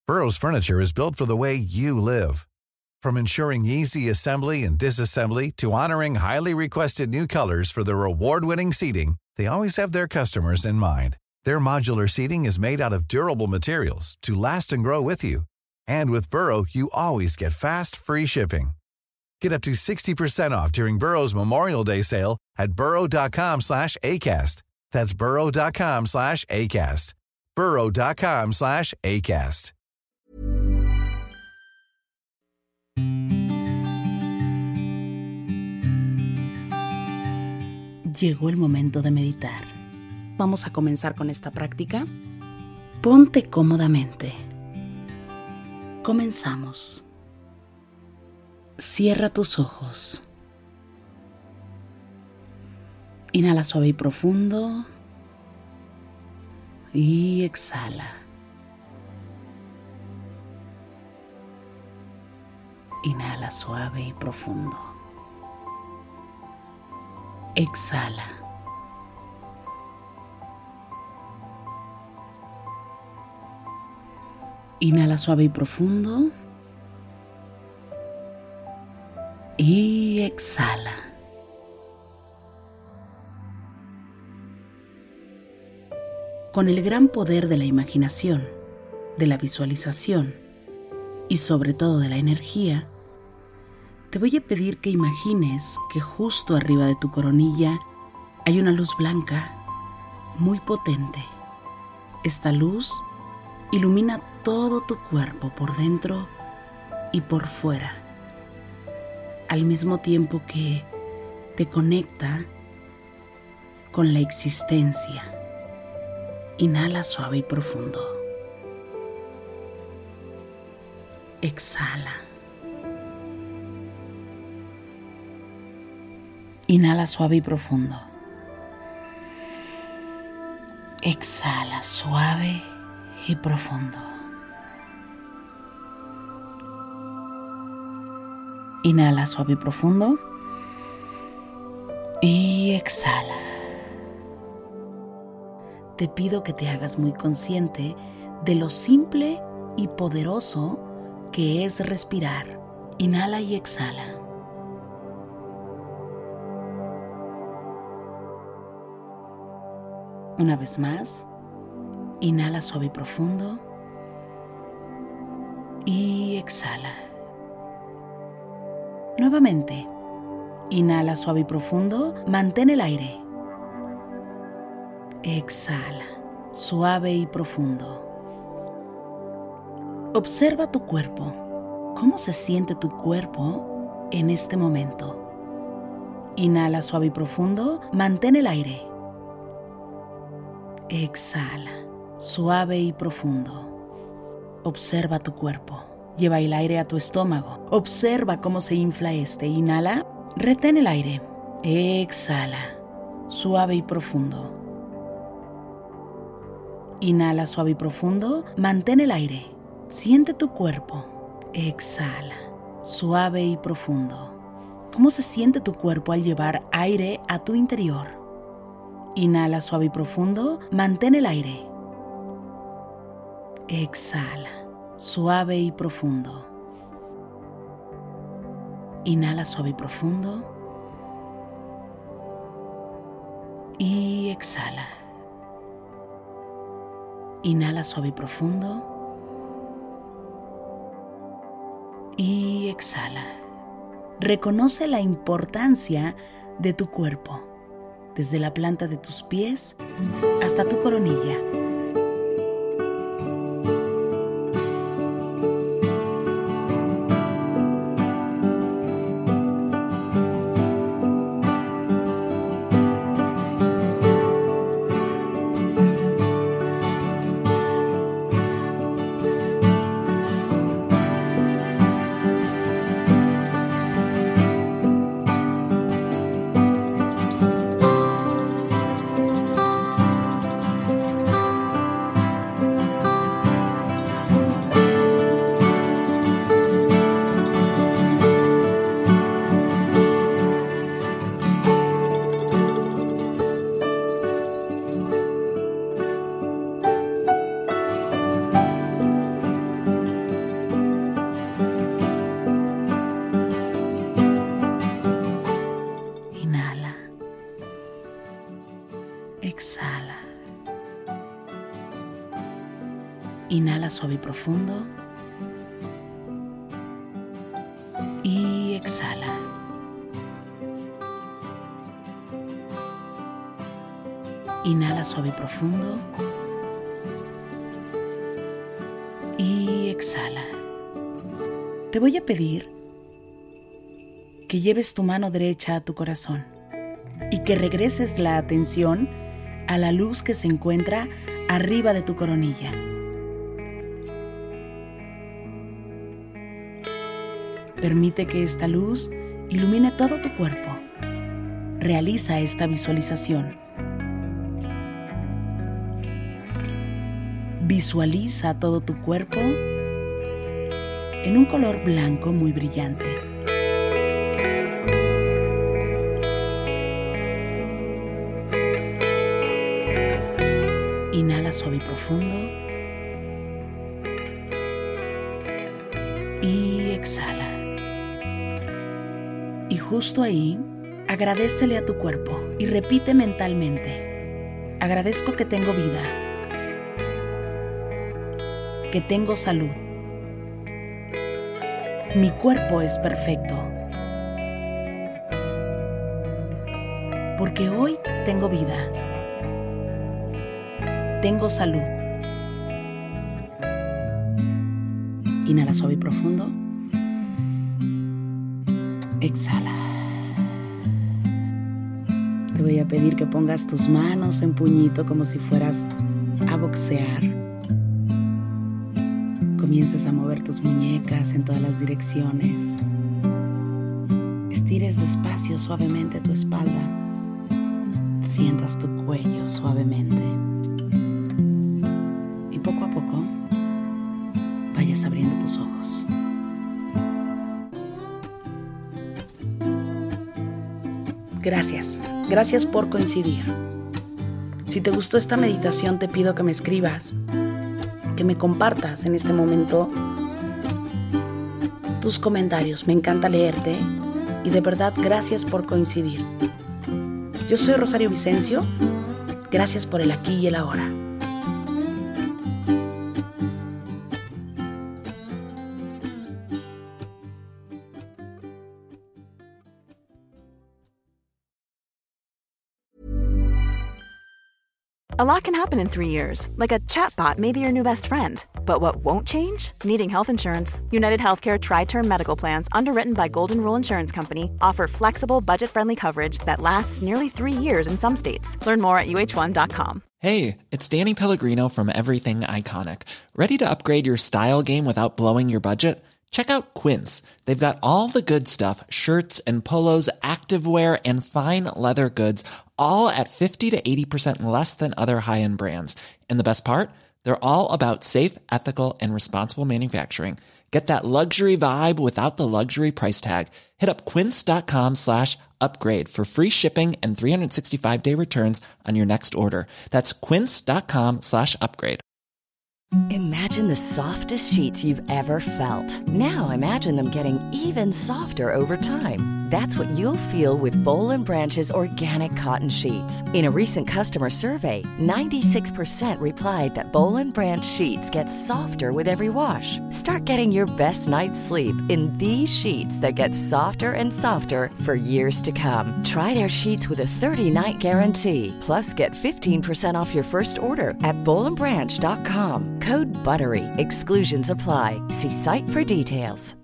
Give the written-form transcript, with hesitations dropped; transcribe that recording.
Burrow's furniture is built for the way you live. From ensuring easy assembly and disassembly to honoring highly requested new colors for their award-winning seating, they always have their customers in mind. Their modular seating is made out of durable materials to last and grow with you. And with Burrow, you always get fast, free shipping. Get up to 60% off during Burrow's Memorial Day sale at burrow.com/ACAST. That's burrow.com/ACAST. burrow.com/ACAST. Llegó el momento de meditar. Vamos a comenzar con esta práctica. Ponte cómodamente. Comenzamos. Cierra tus ojos. Inhala suave y profundo. Y exhala. Inhala suave y profundo. Exhala. Inhala suave y profundo. Y exhala. Con el gran poder de la imaginación, de la visualización y sobre todo de la energía, te voy a pedir que imagines que justo arriba de tu coronilla hay una luz blanca muy potente. Esta luz ilumina todo tu cuerpo por dentro y por fuera, al mismo tiempo que te conecta con la existencia. Inhala suave y profundo. Exhala. Inhala suave y profundo. Exhala suave y profundo. Inhala suave y profundo. Y exhala. Te pido que te hagas muy consciente de lo simple y poderoso que es respirar. Inhala y exhala. Una vez más, inhala suave y profundo y exhala. Nuevamente, inhala suave y profundo, mantén el aire. Exhala, suave y profundo. Observa tu cuerpo. ¿Cómo se siente tu cuerpo en este momento? Inhala suave y profundo, mantén el aire. Exhala, suave y profundo. Observa tu cuerpo. Lleva el aire a tu estómago. Observa cómo se infla este. Inhala, retén el aire. Exhala, suave y profundo. Inhala suave y profundo, mantén el aire. Siente tu cuerpo. Exhala, suave y profundo. ¿Cómo se siente tu cuerpo al llevar aire a tu interior? Inhala suave y profundo, mantén el aire. Exhala, suave y profundo. Inhala suave y profundo. Y exhala. Inhala suave y profundo. Y exhala. Reconoce la importancia de tu cuerpo, desde la planta de tus pies hasta tu coronilla. Inhala suave y profundo. Y exhala. Inhala suave y profundo. Y exhala. Te voy a pedir que lleves tu mano derecha a tu corazón y que regreses la atención a la luz que se encuentra arriba de tu coronilla. Permite que esta luz ilumine todo tu cuerpo. Realiza esta visualización. Visualiza todo tu cuerpo en un color blanco muy brillante. Inhala suave y profundo. Y exhala. Y justo ahí, agradécele a tu cuerpo y repite mentalmente: agradezco que tengo vida, que tengo salud. Mi cuerpo es perfecto, porque hoy tengo vida, tengo salud. Inhala suave y profundo. Exhala. Te voy a pedir que pongas tus manos en puñito como si fueras a boxear. Comiences a mover tus muñecas en todas las direcciones. Estires despacio suavemente tu espalda. Sientas tu cuello suavemente. Y poco a poco vayas abriendo tus ojos. Gracias por coincidir. Si te gustó esta meditación, te pido que me escribas, que me compartas en este momento tus comentarios. Me encanta leerte y de verdad gracias por coincidir. Yo soy Rosario Vicencio. Gracias por el aquí y el ahora. A lot can happen in 3 years, like a chatbot may be your new best friend. But what won't change? Needing health insurance. United Healthcare Tri-Term Medical Plans, underwritten by Golden Rule Insurance Company, offer flexible, budget-friendly coverage that lasts nearly 3 years in some states. Learn more at uh1.com. Hey, it's Danny Pellegrino from Everything Iconic. Ready to upgrade your style game without blowing your budget? Check out Quince. They've got all the good stuff, shirts and polos, activewear, and fine leather goods, all at 50 to 80% less than other high-end brands. And the best part? They're all about safe, ethical, and responsible manufacturing. Get that luxury vibe without the luxury price tag. Hit up quince.com/upgrade for free shipping and 365-day returns on your next order. That's quince.com/upgrade. Imagine the softest sheets you've ever felt. Now imagine them getting even softer over time. That's what you'll feel with Boll & Branch's organic cotton sheets. In a recent customer survey, 96% replied that Boll & Branch sheets get softer with every wash. Start getting your best night's sleep in these sheets that get softer and softer for years to come. Try their sheets with a 30-night guarantee. Plus, get 15% off your first order at bollandbranch.com. Code BUTTERY. Exclusions apply. See site for details.